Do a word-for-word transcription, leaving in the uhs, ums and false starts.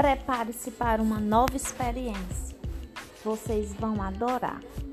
Prepare-se para uma nova experiência. Vocês vão adorar.